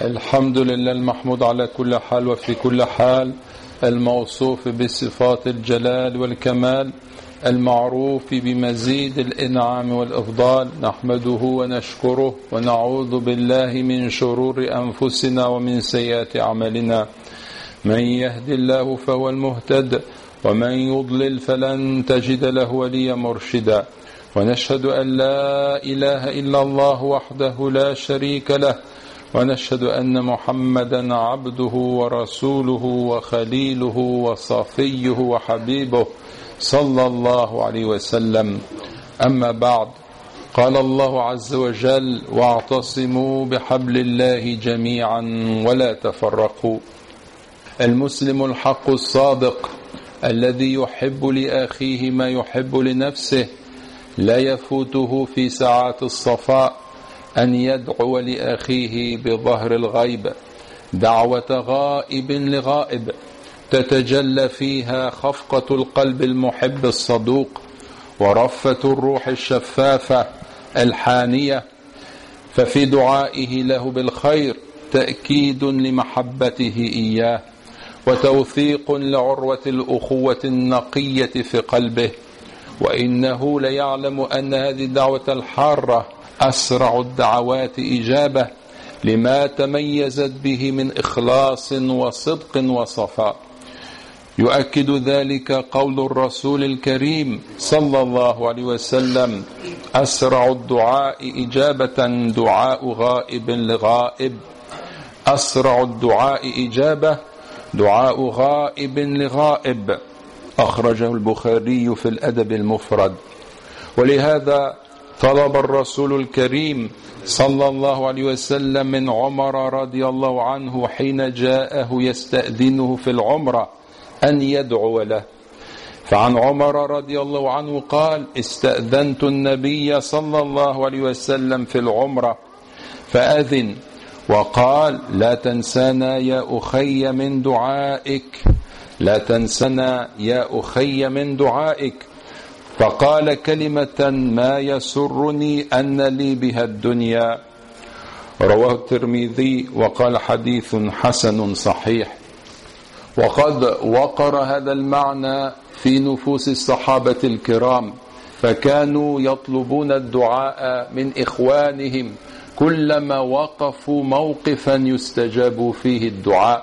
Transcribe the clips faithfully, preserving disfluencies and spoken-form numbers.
الحمد لله المحمود على كل حال وفي كل حال، الموصوف بصفات الجلال والكمال، المعروف بمزيد الإنعام والإفضال. نحمده ونشكره ونعوذ بالله من شرور أنفسنا ومن سيئات أعمالنا. من يهد الله فهو المهتد، ومن يضلل فلن تجد له وليا مرشدا. ونشهد أن لا إله إلا الله وحده لا شريك له، ونشهد أن محمدا عبده ورسوله وخليله وصفيه وحبيبه صلى الله عليه وسلم. أما بعد، قال الله عز وجل: واعتصموا بحبل الله جميعا ولا تفرقوا. المسلم الحق الصادق الذي يحب لأخيه ما يحب لنفسه لا يفوته في ساعات الصفاء أن يدعو لأخيه بظهر الغيب دعوة غائب لغائب تتجلى فيها خفقة القلب المحب الصدوق ورفة الروح الشفافة الحانية. ففي دعائه له بالخير تأكيد لمحبته إياه وتوثيق لعروة الأخوة النقية في قلبه. وإنه ليعلم أن هذه الدعوة الحارة أسرع الدعوات إجابة لما تميزت به من إخلاص وصدق وصفاء. يؤكد ذلك قول الرسول الكريم صلى الله عليه وسلم: أسرع الدعاء إجابة دعاء غائب لغائب. أسرع الدعاء إجابة دعاء غائب لغائب. أخرجه البخاري في الأدب المفرد. ولهذا طلب الرسول الكريم صلى الله عليه وسلم من عمر رضي الله عنه حين جاءه يستأذنه في العمرة أن يدعو له. فعن عمر رضي الله عنه قال: استأذنت النبي صلى الله عليه وسلم في العمرة فأذن وقال: لا تنسانا يا أخي من دعائك، لا تنسنا يا أخي من دعائك. فقال كلمة ما يسرني أن لي بها الدنيا. رواه الترمذي وقال: حديث حسن صحيح. وقد وقر هذا المعنى في نفوس الصحابة الكرام، فكانوا يطلبون الدعاء من إخوانهم كلما وقفوا موقفا يستجاب فيه الدعاء.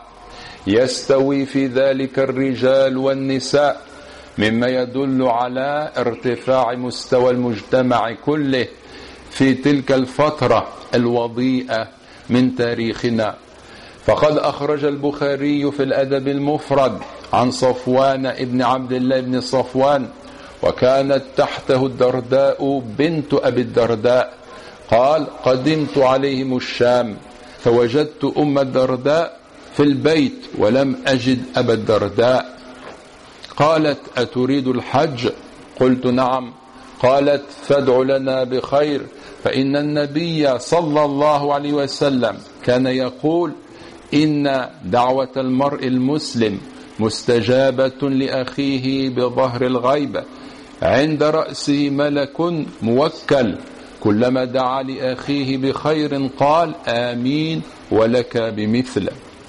يستوي في ذلك الرجال والنساء، مما يدل على ارتفاع مستوى المجتمع كله في تلك الفترة الوضيئة من تاريخنا. فقد أخرج البخاري في الأدب المفرد عن صفوان ابن عبد الله بن صفوان، وكانت تحته الدرداء بنت أبي الدرداء، قال: قدمت عليهم الشام فوجدت أم الدرداء في البيت ولم أجد أبا الدرداء. قالت: أتريد الحج؟ قلت: نعم. قالت: فادع لنا بخير، فإن النبي صلى الله عليه وسلم كان يقول: إن دعوة المرء المسلم مستجابة لأخيه بظهر الغيب، عند رأسه ملك موكل، كلما دعا لأخيه بخير قال: آمين ولك بمثل،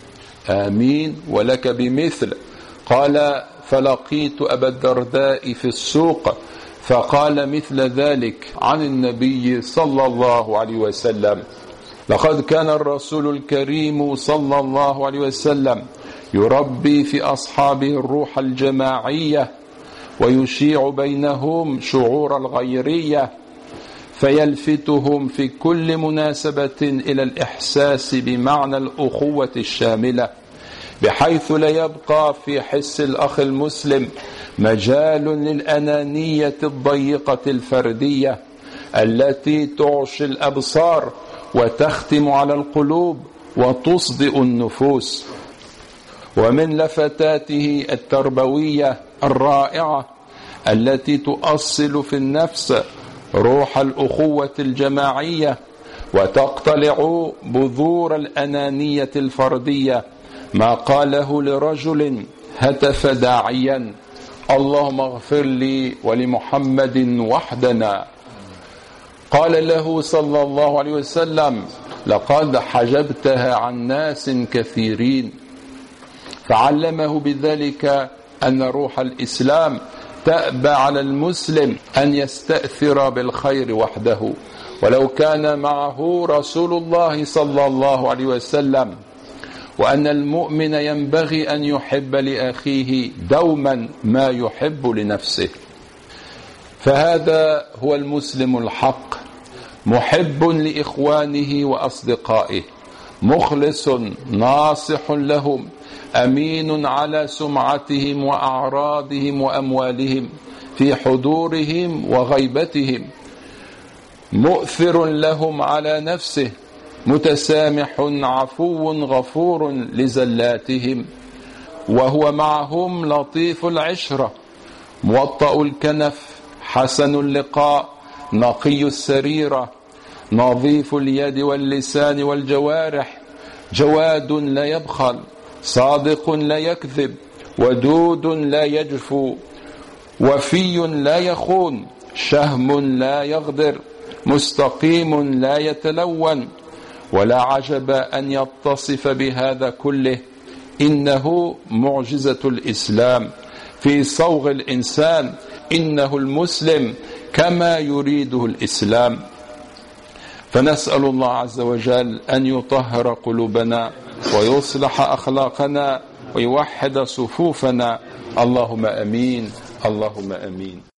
آمين ولك بمثل. قال: فلقيت أبا الدرداء في السوق فقال مثل ذلك عن النبي صلى الله عليه وسلم. لقد كان الرسول الكريم صلى الله عليه وسلم يربي في أصحابه الروح الجماعية ويشيع بينهم شعور الغيرية، فيلفتهم في كل مناسبة إلى الإحساس بمعنى الأخوة الشاملة، بحيث لا يبقى في حس الأخ المسلم مجال للأنانية الضيقة الفردية التي تعشي الأبصار وتختم على القلوب وتصدئ النفوس. ومن لفتاته التربوية الرائعة التي تؤصل في النفس روح الأخوة الجماعية وتقتلع بذور الأنانية الفردية ما قاله لرجل هتف داعيا: اللهم اغفر لي ولمحمد وحدنا. قال له صلى الله عليه وسلم: لقد حجبتها عن ناس كثيرين. فعلمه بذلك أن روح الإسلام تأبى على المسلم أن يستأثر بالخير وحده، ولو كان معه رسول الله صلى الله عليه وسلم، وأن المؤمن ينبغي أن يحب لأخيه دوما ما يحب لنفسه. فهذا هو المسلم الحق، محب لإخوانه وأصدقائه، مخلص ناصح لهم، أمين على سمعتهم وأعراضهم وأموالهم في حضورهم وغيبتهم، مؤثر لهم على نفسه، متسامح عفو غفور لزلاتهم، وهو معهم لطيف العشرة، موطأ الكنف، حسن اللقاء، نقي السريرة، نظيف اليد واللسان والجوارح، جواد لا يبخل، صادق لا يكذب، ودود لا يجفو، وفي لا يخون، شهم لا يغدر، مستقيم لا يتلون. ولا عجب أن يتصف بهذا كله، إنه معجزة الإسلام في صوغ الإنسان، إنه المسلم كما يريده الإسلام. فنسأل الله عز وجل أن يطهر قلوبنا ويصلح أخلاقنا ويوحد صفوفنا. اللهم أمين، اللهم أمين.